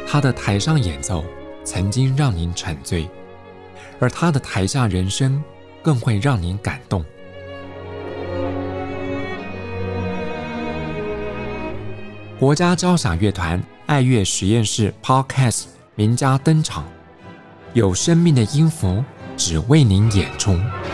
他的台上演奏曾經讓您沉醉，而他的台下人生更會讓您感動。國家交響樂團愛樂實驗室 Podcast 名家登場，有生命的音符只為您演出。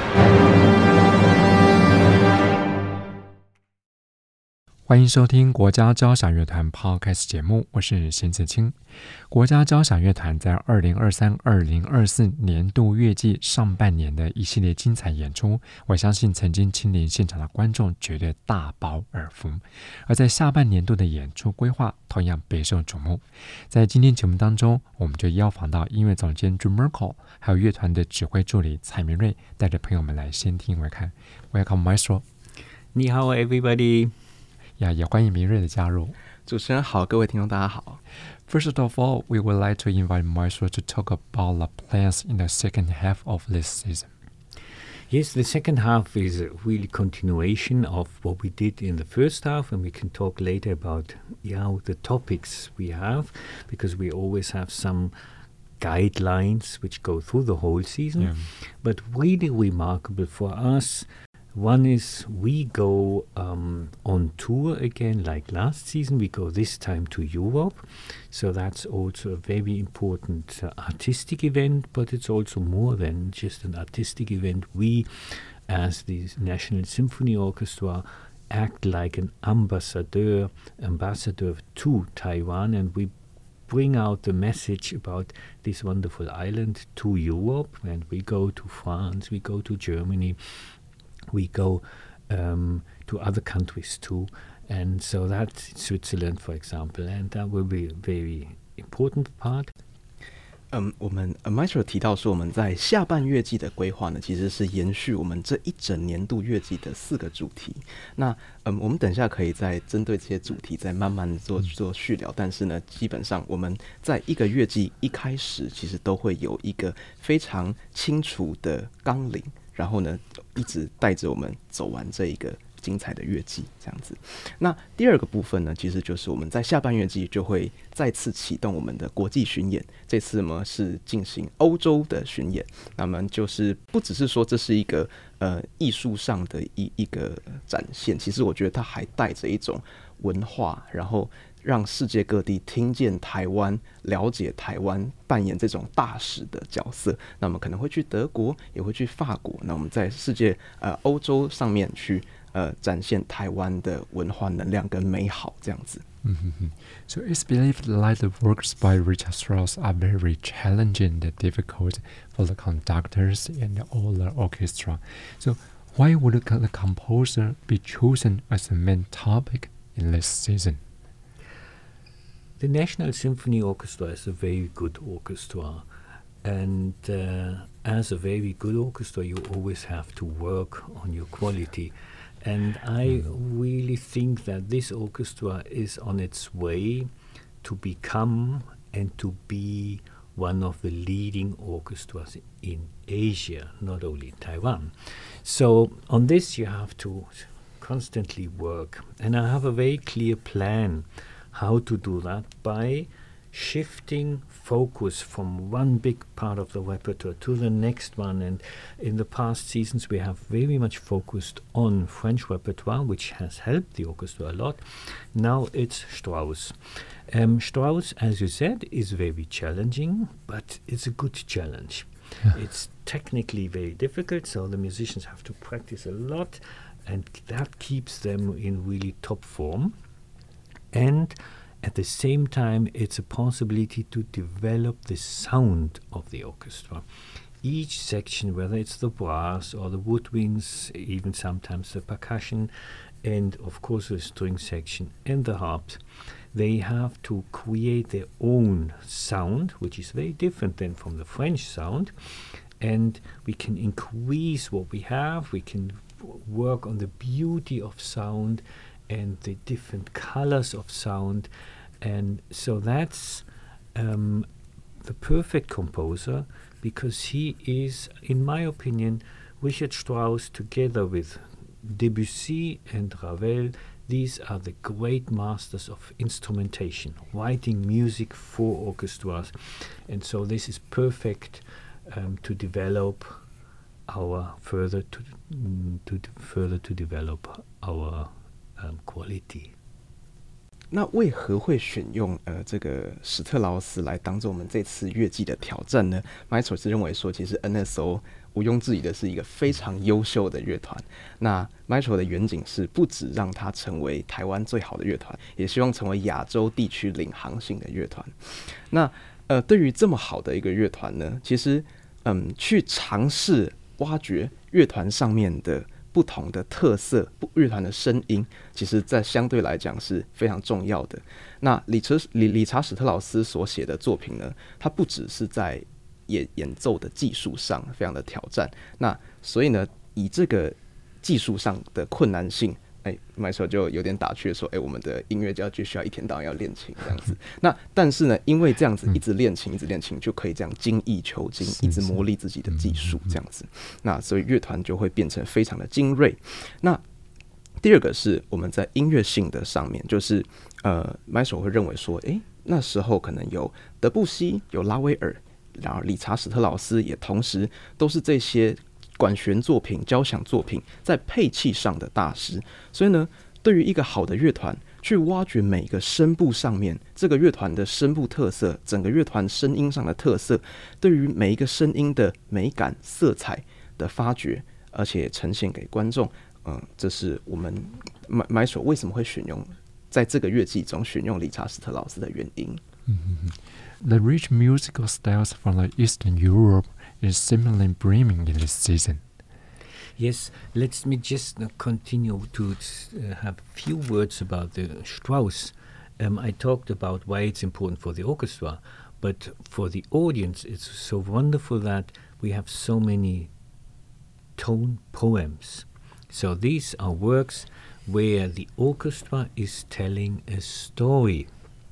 歡迎收聽國家交響樂團 Podcast 節目，我是邢子清。國家交響樂團在2023-2024年度樂季上半年的一系列精彩演出，我相信曾經親臨現場的觀眾絕對大飽耳福。而在下半年度的演出規劃同樣備受矚目。在今天節目當中，我們就邀訪到音樂總監 Drew Merkle， 還有樂團的指揮助理蔡明瑞，帶着朋友們來先聽為看。Welcome, Maestro。 你好 ，everybody。 也歡迎明瑞的加入。 主持人好，各位聽眾大家好。 First of all, we would like to invite Maestro to talk about the plans in the second half of this season. Yes, the second half is a really continuation of what we did in the first half, and we can talk later about the topics we have, because we always have some guidelines which go through the whole season. Yeah. But really remarkable for us, one is we go on tour again like last season. We go this time to Europe. So that's also a very important artistic event, but it's also more than just an artistic event. We, as the National Symphony Orchestra, act like an ambassador to Taiwan, and we bring out the message about this wonderful island to Europe. And we go to France, we go to Germany, we go to other countries too, and so that's Switzerland, for example, and that will be a very important part. 我們Maestro 提到說，我們在下半樂季的規劃呢，其實是延續我們這一整年度樂季的4個主題。那我們等一下可以再針對這些主題再慢慢做續聊。但是呢，基本上我們在一個樂季一開始，其實都會有一個非常清楚的綱領，然後呢，一直帶着我們走完這一個精彩的樂季，這樣子。那第二個部分呢，其實就是我們在下半樂季就會再次啟動我們的國際巡演。這次呢是進行歐洲的巡演，那麼就是不只是說這是一個藝術上的一個展現，其實我覺得它還帶着一種文化，然後讓世界各地聽見台灣，了解台灣，扮演這種大使的角色。那我們可能會去德國，也會去法國。那我們在世界歐洲上面去展現台灣的文化能量跟美好，這樣子。 So it's believed that the works by Richard Strauss are very challenging and difficult for the conductors and all the orchestra. So why would the composer be chosen as the main topic in this season? The National Symphony Orchestra is a very good orchestra, and as a very good orchestra, you always have to work on your quality. And I really think that this orchestra is on its way to become and to be one of the leading orchestras in Asia, not only in Taiwan. So on this you have to constantly work. And I have a very clear plan how to do that by shifting focus from one big part of the repertoire to the next one. And in the past seasons we have very much focused on French repertoire, which has helped the orchestra a lot. Now it's Strauss. Strauss, as you said, is very challenging, but it's a good challenge. It's technically very difficult, so the musicians have to practice a lot, and that keeps them in really top form. And at the same time, it's a possibility to develop the sound of the orchestra. Each section, whether it's the brass or the woodwinds, even sometimes the percussion, and of course the string section and the harps, they have to create their own sound, which is very different than from the French sound. And we can increase what we have. We can work on the beauty of sound and the different colors of sound. And so that's the perfect composer, because he is, in my opinion, Richard Strauss, together with Debussy and Ravel, these are the great masters of instrumentation, writing music for orchestras, and so this is perfect to develop our further to develop our quality. 那为何会选用这个史特劳斯来当做我们这次乐季的挑戰呢？ Maestro 是認為說，其實 NSO 毋庸置疑的是一個非常優秀的樂團。那 Maestro 的遠景是不只讓它成為台灣最好的樂團，也希望成為亞洲地區領航性的樂團。那對於這麼好的一個樂團呢，其實去嘗試挖掘樂團上面的不同的特色，樂團的聲音，其實在相對來講是非常重要的。那理查史特勞斯所寫的作品呢，它不只是在演奏的技術上非常的挑戰，那所以呢，以這個技術上的困難性，Maestro 就有點打趣說，我們的音樂家就需要一天到晚要練琴這樣子。那但是呢，因為這樣子一直練琴，一直練琴，就可以這樣精益求精，一直磨礪自己的技術這樣子。那所以樂團就會變成非常的精銳。那第二個是我們在音樂性的上面，就是Maestro 會認為說，那時候可能有德布西，有拉威爾，然後理查史特勞斯也同時都是這些管弦作品、交響作品在配器上的大師，所以呢，對於一個好的樂團，去挖掘每個聲部上面這個樂團的聲部特色，整個樂團聲音上的特色，對於每一個聲音的美感、色彩的發掘，而且呈現給觀眾，這是我們 Maestro 為什麼會選用在這個樂季中選用理查史特勞斯的原因。 The rich musical styles from the Eastern Europe is similarly brimming in this season. Yes, let me just continue to have a few words about the Strauss. I talked about why it's important for the orchestra, but for the audience it's so wonderful that we have so many tone poems. So these are works where the orchestra is telling a story.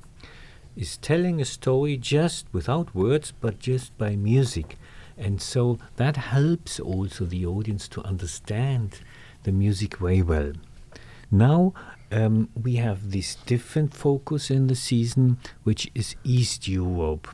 Is telling a story just without words, but just by music. And so that helps also the audience to understand the music very well. Now we have this different focus in the season, which is East Europe.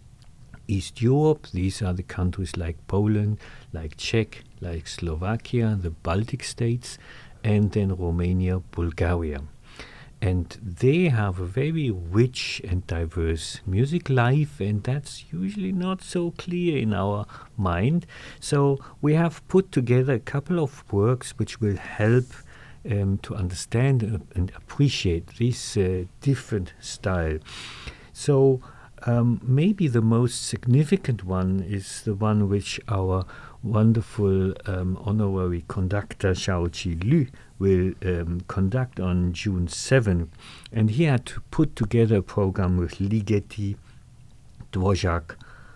East Europe, these are the countries like Poland, like Czech, like Slovakia, the Baltic states, and then Romania, Bulgaria. And they have a very rich and diverse music life, and that's usually not so clear in our mind. So we have put together a couple of works which will help to understand and appreciate this different style. So maybe the most significant one is the one which our wonderful honorary conductor Xiaoqi Liu will conduct on June 7. And he had to put together a program with Ligeti, Dvořák,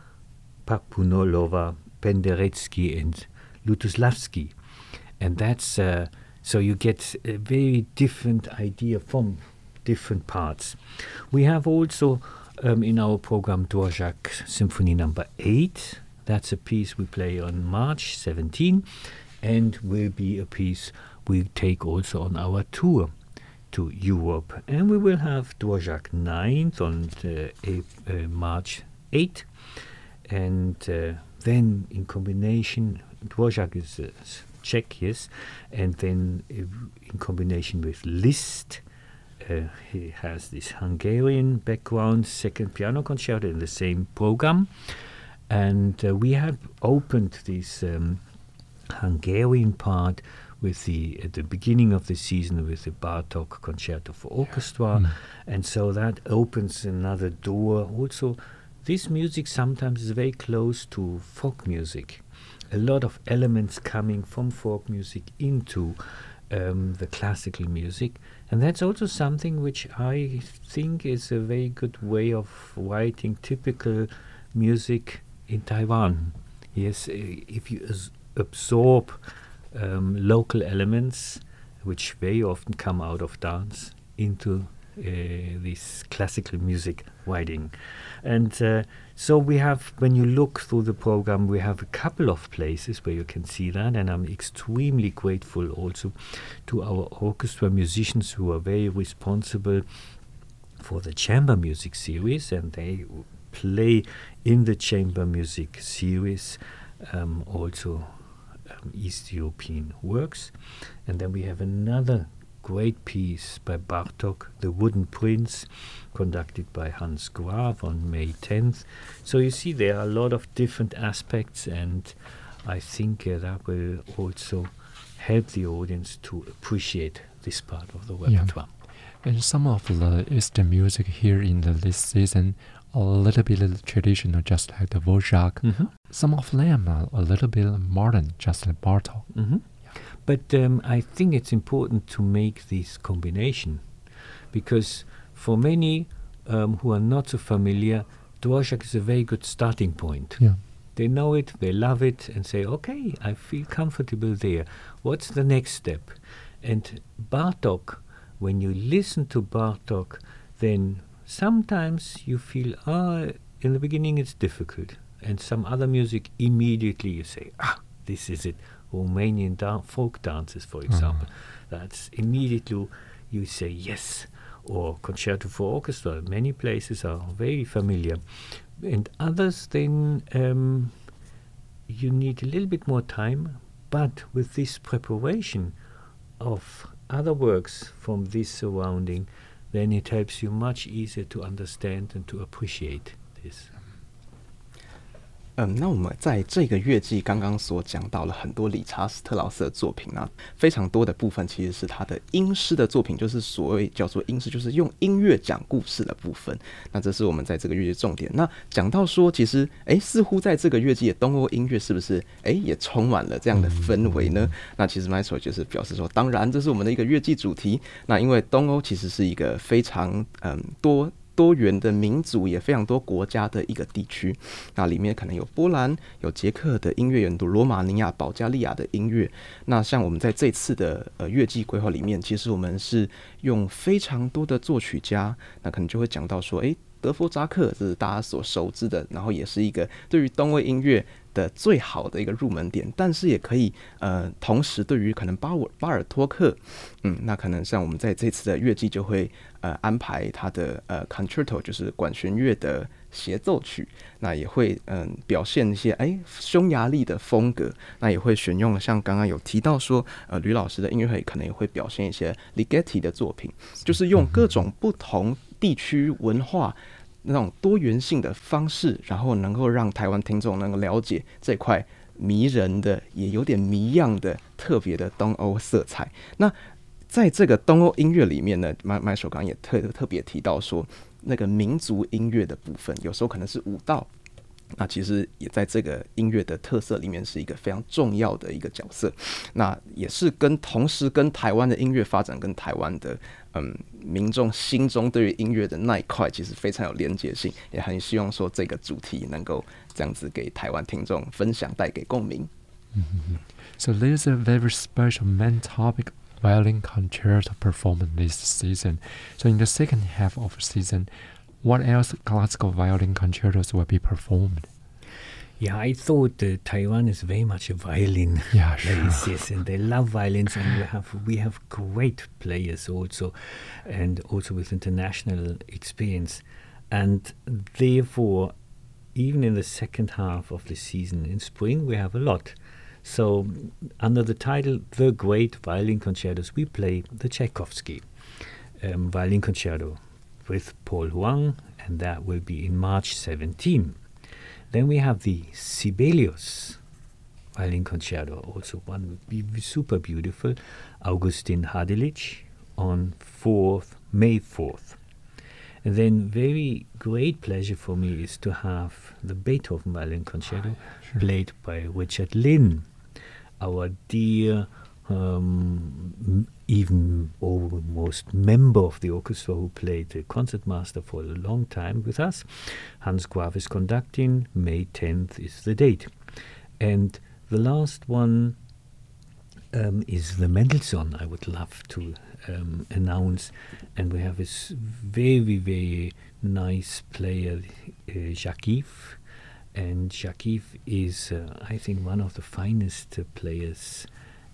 Papunolova, Penderecki and Lutoslavsky. And that's so you get a very different idea from different parts. We have also in our program Dvořák Symphony No. 8. That's a piece we play on March 17 and will be a piece we take also on our tour to Europe. And we will have Dvořák 9th on March 8. And then in combination, Dvořák is Czech, yes, and then in combination with Liszt, he has this Hungarian background, second piano concerto in the same program. And we have opened this Hungarian part with at the beginning of the season with the Bartók Concerto for Orchestra, and so that opens another door. Also, this music sometimes is very close to folk music. A lot of elements coming from folk music into the classical music, and that's also something which I think is a very good way of writing typical music in Taiwan. Yes, if you absorb local elements which very often come out of dance into this classical music writing. And so we have, when you look through the program, we have a couple of places where you can see that, and I'm extremely grateful also to our orchestra musicians who are very responsible for the chamber music series, and they play in the chamber music series also East European works. And then we have another great piece by Bartók, The Wooden Prince, conducted by Hans Graf on May 10th. So you see there are a lot of different aspects, and I think that will also help the audience to appreciate this part of the repertoire. Yeah. And some of the Eastern music here in this season a little bit traditional, just like the Dvorak. Mm-hmm. Some of them are a little bit modern, just like Bartók. Mm-hmm. But I think it's important to make this combination, because for many who are not so familiar, Dvorak is a very good starting point. Yeah. They know it, they love it, and say, okay, I feel comfortable there. What's the next step? And Bartók, when you listen to Bartók, then sometimes you feel, in the beginning it's difficult. And some other music, immediately you say, this is it. Romanian folk dances, for example. That's immediately you say yes. Or concerto for orchestra. Many places are very familiar. And others, then you need a little bit more time. But with this preparation of other works from this surrounding, then it helps you much easier to understand and to appreciate this. 那我们在这个乐季刚刚所講到了很多理查斯特勞斯的作品啊，非常多的部分其實是他的英詩的作品，就是所謂叫做英詩，就是用音樂講故事的部分。那這是我們在這個樂季的重點。那講到說，其實似乎在這個樂季的東歐音樂是不是也充滿了這樣的氛圍呢？那其實 Maestro 就是表示說，當然這是我們的一個樂季主題。那因為東歐其實是一個非常多元的民族，也非常多國家的一個地區，那裡面可能有波蘭、有捷克的音樂，有羅馬尼亞、保加利亞的音樂。那像我們在這次的樂季規劃裡面，其實我們是用非常多的作曲家，那可能就會講到說，德弗扎克這是大家所熟知的，然後也是一個對於東歐音樂的最好的一個入門點，但是也可以同時對於可能巴爾托克，那可能像我們在這次的樂季就會安排他的concerto， 就是管弦樂的協奏曲，那也會表現一些匈牙利的風格，那也會選用像剛剛有提到說呂老師的音樂會可能也會表現一些 Ligeti 的作品，就是用各種不同地區文化那種多元性的方式，然後能夠讓台灣聽眾能夠了解這塊迷人的也有點迷樣的特別的東歐色彩。那在這個東歐音樂裡面呢，Maestro剛剛也特別提到說，那個民族音樂的部分有時候可能是舞蹈，那其實也在這個音樂的特色裡面是一個非常重要的一個角色。那也是同時跟台灣的音樂發展跟台灣的民眾心中對於音樂的那一塊其實非常有連結性，也很希望說這個主題能夠這樣子給台灣聽眾分享，帶給共鳴。 So there's a very special main topic violin concerto performance this season. So in the second half of the season, what else classical violin concertos will be performed? Yeah, I thought Taiwan is very much a violin place, yes, and they love violins, and we have great players also, and also with international experience, and therefore, even in the second half of the season, in spring, we have a lot. So, under the title The Great Violin Concertos, we play the Tchaikovsky Violin Concerto with Paul Huang, and that will be in March 17. Then we have the Sibelius Violin Concerto, also one super beautiful, Augustin Hadelic, on May 4th. And then very great pleasure for me is to have the Beethoven Violin Concerto played by Richard Lynn, our dear, even almost member of the orchestra who played the concertmaster for a long time with us. Hans Graf is conducting. May 10th is the date. And the last one is the Mendelssohn I would love to announce. And we have this very, very nice player, Jacques. And Jacques is, I think, one of the finest players,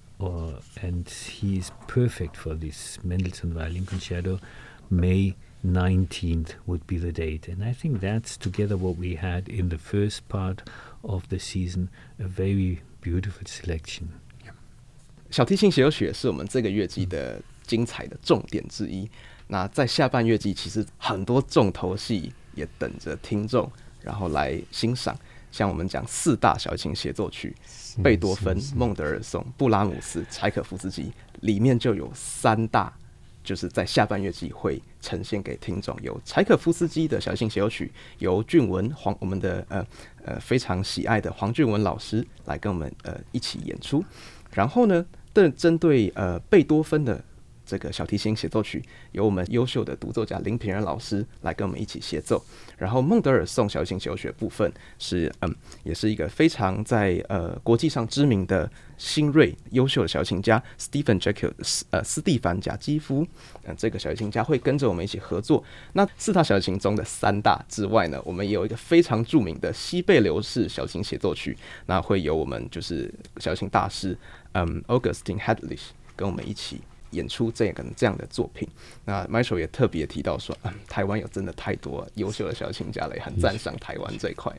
and he is perfect for this Mendelssohn Violin Concerto. May 19th would be the date. And I think that's, together what we had in the first part of the season, a very beautiful selection. 小提琴协奏曲是我们这个乐季的精彩的重点之一。那在下半乐季，其實很多重頭戲也等着聽眾然後來欣賞。像我們講4大小提琴協奏曲，貝多芬、孟德爾頌、布拉姆斯、柴可夫斯基，裡面就有3大，就是在下半樂季會呈現給聽眾。有柴可夫斯基的小提琴協奏曲，由俊文我們的非常喜愛的黃俊文老師來跟我們一起演出。然後呢，針對貝多芬的這個小提琴協奏曲，由我們優秀的獨奏家林品任老師來跟我們一起協奏。然後孟德爾頌小提琴協奏曲的部分是也是一個非常在國際上知名的新銳優秀的小提琴家斯蒂凡賈基夫，這個小提琴家會跟着我們一起合作。那4大小提琴中的3大之外呢，我們也有一個非常著名的西貝流式小提琴協奏曲，那會由我們就是小提琴大師Augustin Hedlich 跟我們一起演出這樣的作品。那 Maestro 也特別提到說，台灣有真的太多優秀的小提琴家了，也很讚賞台灣這一塊。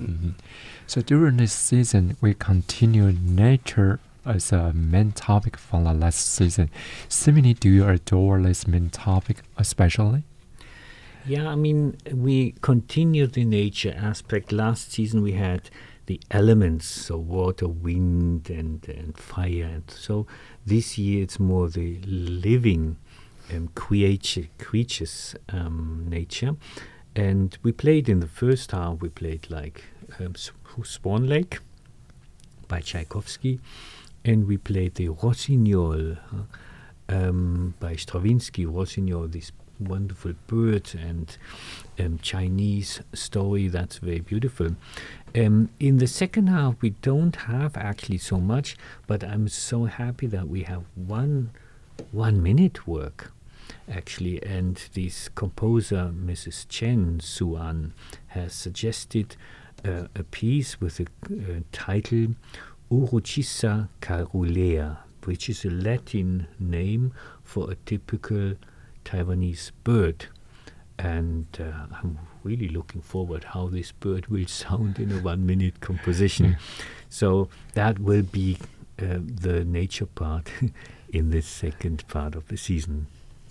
So during this season, we continue nature as a main topic from the last season. Simone, do you adore this main topic especially? Yeah, I mean, we continued the nature aspect. Last season we had the elements, so water, wind, and fire. And so this year it's more the living creatures nature. And we played in the first half, we played like Swan Lake by Tchaikovsky, and we played the Rossignol by Stravinsky. Rossignol, this wonderful bird and Chinese story that's very beautiful. In the second half we don't have actually so much, but I'm so happy that we have one minute work actually, and this composer Mrs. Chen Suan has suggested a piece with the title Uruchissa caerulea, which is a Latin name for a typical Taiwanese bird, and I'm really looking forward how this bird will sound in a 1 minute composition. So that will be the nature part in the second part of the season.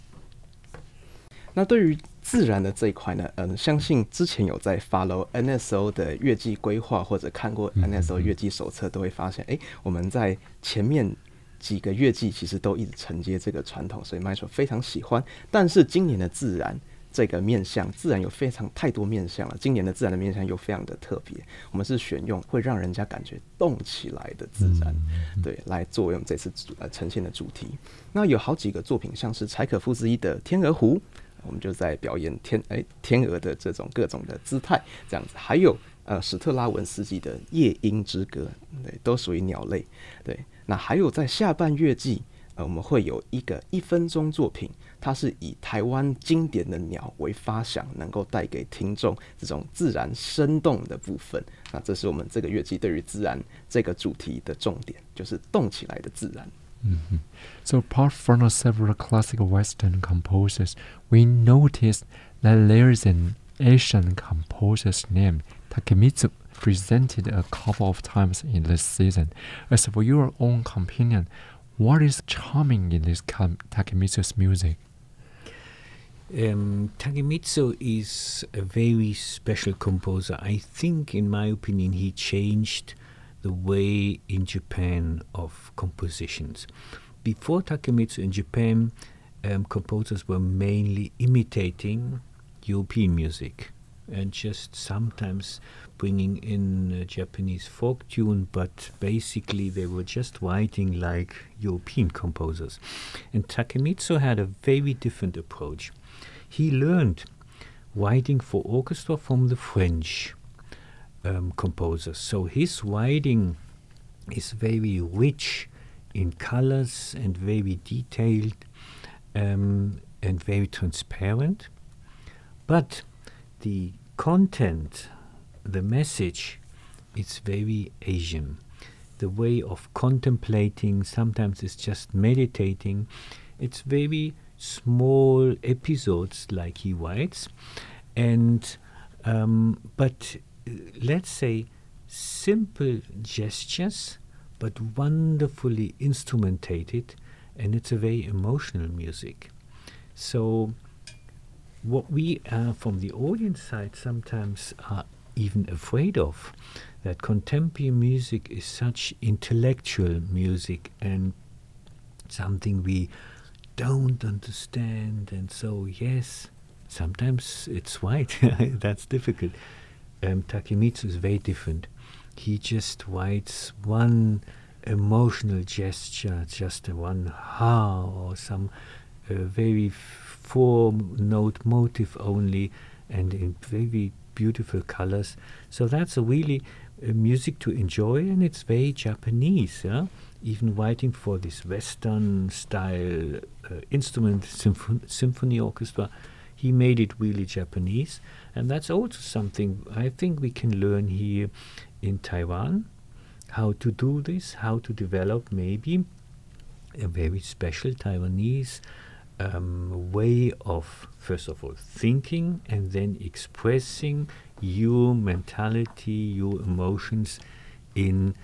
那对於自然的這一塊呢，相信之前有在 follow NSO 的樂季規劃或者看過 NSO 樂季手冊，都會發現，我們在前面幾個樂季其實都一直承接這個傳統，所以 Maestro 非常喜歡。但是今年的自然這個面向，自然有太多面向了。今年的自然的面向又非常的特別，我們是選用會讓人家感覺動起來的自然，對，來作為我們這次呈現的主題。那有好幾個作品，像是柴可夫斯基的《天鵝湖》，我們就在表演天鵝的這種各種的姿態，這樣子。還有史特拉文斯基的《夜鶯之歌》，對，都屬於鳥類。對，那還有在下半樂季，我們會有一個1分鐘作品，它是以台灣經典的鳥為發想，能夠帶給聽眾這種自然生動的部分。那這是我們這個樂季對於自然這個主題的重點，就是動起來的自然。 So apart from the several classical Western composers, we noticed that there is an Asian composer's name, Takemitsu, presented a couple of times in this season. As for your own opinion, what is charming in this Takemitsu's music? Takemitsu is a very special composer. I think, in my opinion, he changed the way in Japan of compositions. Before Takemitsu in Japan, composers were mainly imitating European music and just sometimes bringing in a Japanese folk tune, but basically they were just writing like European composers. And Takemitsu had a very different approach. He learned writing for orchestra from the French composers. So his writing is very rich in colors and very detailed and very transparent. But the content, the message, it's very Asian. The way of contemplating, sometimes it's just meditating. It's very small episodes, like he writes, and but let's say simple gestures, but wonderfully instrumentated, and it's a very emotional music. So what we from the audience side sometimes are even afraid of, that contemporary music is such intellectual music and something we don't understand, and so yes, sometimes it's right. That's difficult. Takemitsu is very different. He just writes one emotional gesture, just one ha or some very four-note motive only, and in very beautiful colors. So that's really music to enjoy, and it's very Japanese. Yeah? Even writing for this Western style instrument symphony orchestra, he made it really Japanese, and that's also something I think we can learn here in Taiwan, how to do this, how to develop maybe a very special Taiwanese way of, first of all, thinking and then expressing your mentality, your emotions in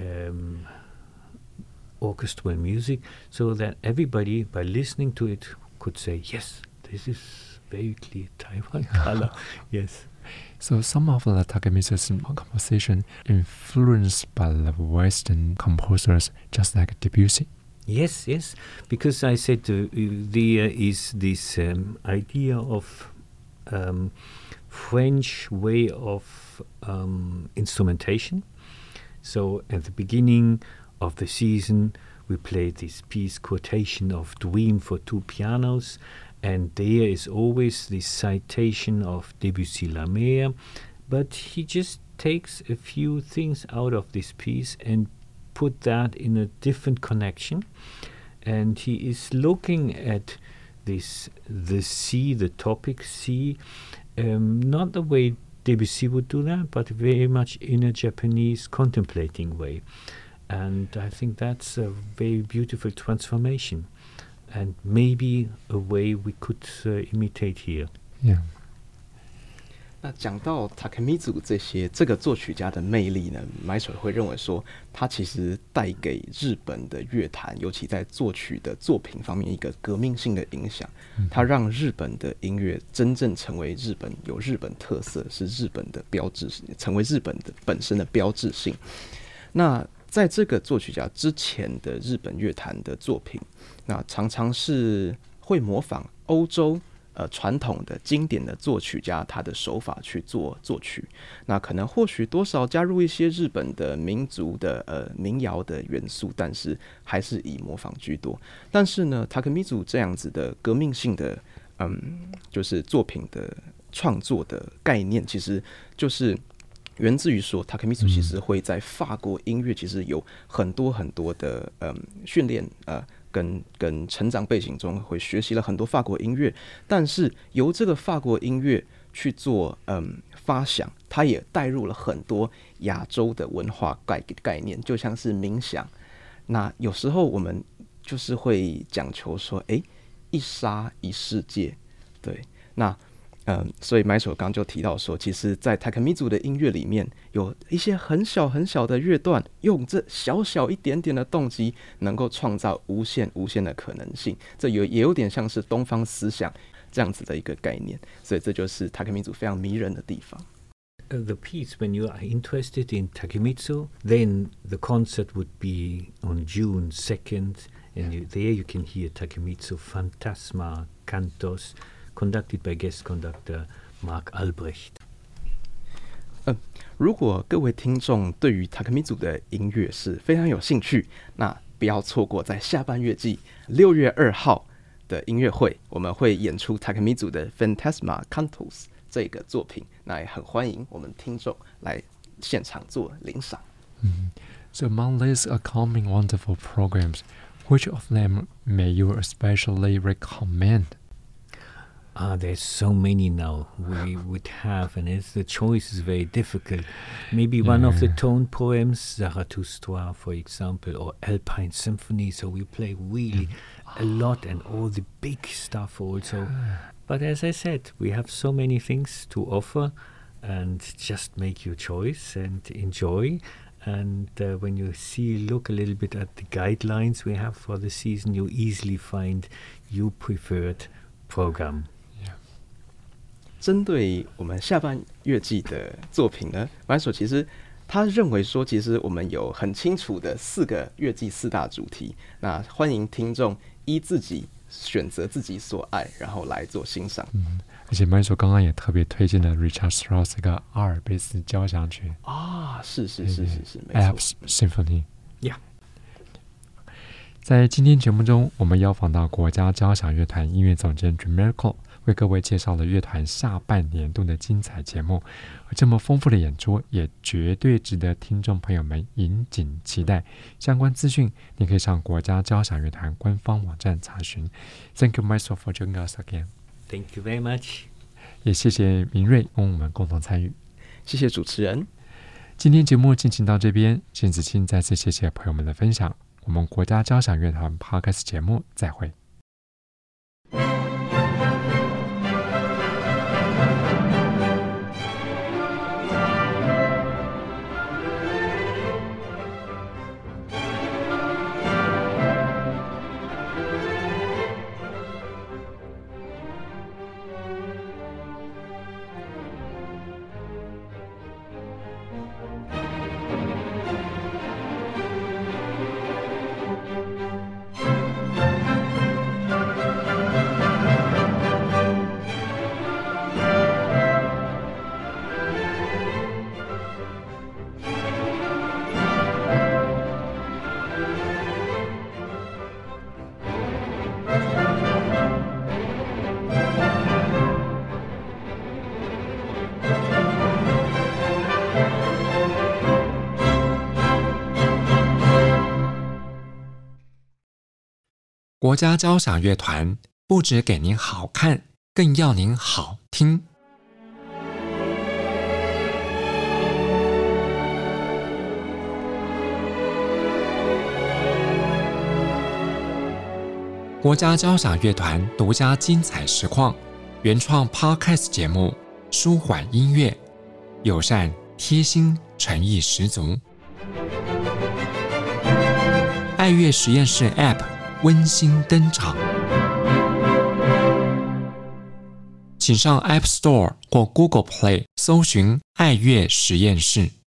orchestral music, so that everybody, by listening to it, could say, yes, this is very clear Taiwan color. Yes. So some of the Takemitsu's composition influenced by the Western composers, just like Debussy. Yes, yes, because I said there is this idea of French way of instrumentation. So at the beginning of the season, we played this piece, Quotation of Dream for two pianos, and there is always this citation of Debussy La Mer, but he just takes a few things out of this piece and put that in a different connection, and he is looking at this, the sea, the topic sea, not the way Debussy would do that, but very much in a Japanese contemplating way. And I think that's a very beautiful transformation, and maybe a way we could imitate here. Yeah. 那講到 Takemitsu 這個作曲家的魅力呢，Maestro會認為說，他其實帶給日本的樂壇，尤其在作曲的作品方面一個革命性的影響。他讓日本的音樂真正成為日本有日本特色，是日本的標誌，成為日本的本身的標誌性。那在這個作曲家之前的日本樂壇的作品，那常常是會模仿歐洲傳統的經典的作曲家他的手法去做作曲，那可能或許多少加入一些日本的民族的民謠的元素，但是還是以模仿居多。但是呢 Takemitsu 這樣子的革命性的就是作品的創作的概念，其實就是源自於說 Takemitsu 其實會在法國音樂其實有很多很多的訓練跟成長背景中會學習了很多法國音樂，但是由這個法國音樂去做發想，它也帶入了很多亞洲的文化概念，就像是冥想。那有時候我們就是會講求說，一沙一世界，對，那所以 Maestro 剛就提到說，其實在 Takemitsu 的音樂裡面有一些很小很小的樂段，用這小小一點點的動機能夠創造無限無限的可能性，這也有點像是東方思想這樣子的一個概念，所以這就是 Takemitsu 非常迷人的地方。 The piece, when you are interested in Takemitsu, then the concert would be on June 2nd, and there you can hear Takemitsu Phantasma Cantos, conducted by guest conductor Mark Albrecht. 如果各位聽眾對於 Takemitsu 的音樂是非常有興趣，那不要錯過在下半月季6月2號的音樂會，我們會演出 Takemitsu 的 Phantasma Cantos 這個作品，那也很歡迎我們聽眾來現場做聆賞。 So among these upcoming wonderful programs, which of them may you especially recommend? There's so many now we would have, and the choice is very difficult. Maybe one of the tone poems, Zarathustra, for example, or Alpine Symphony. So we play really a lot, and all the big stuff also. But as I said, we have so many things to offer, and just make your choice and enjoy. And when you look a little bit at the guidelines we have for the season, you easily find your preferred program. 针对我们下半乐季的作品呢，马所其實他認為說，其實我們有很清楚的4個樂季4大主題，那歡迎聽眾依自己選擇自己所愛，然後來做欣賞。 而且麥所剛剛也特別推薦了 Richard Strauss 一個阿爾卑斯交響曲是，沒錯 Alps Symphony。Yeah。在今天節目中，我們邀訪到國家交響樂團音樂總監 Jim Miracle， 為各位介紹了樂團下半年度的精彩節目。而這麼豐富的演出，也絕對值得聽眾朋友們引頸期待。相關資訊，你可以上國家交響樂團官方網站查詢。Thank you, Maestro, for joining us again. Thank you very much. 也謝謝明瑞跟我們共同參與。 謝謝主持人。 今天節目進行到這邊，辛子清再次謝謝朋友們的分享。我們國家交響樂團 Podcast 節目再會。國家交響樂團不只給您好看，更要您好聽。國家交響樂團獨家精彩實況，原創 Podcast 節目，舒緩音樂，友善貼心，誠意十足。愛樂實驗室 App 溫馨登場，請上 App Store 或 Google Play 搜尋愛樂實驗室。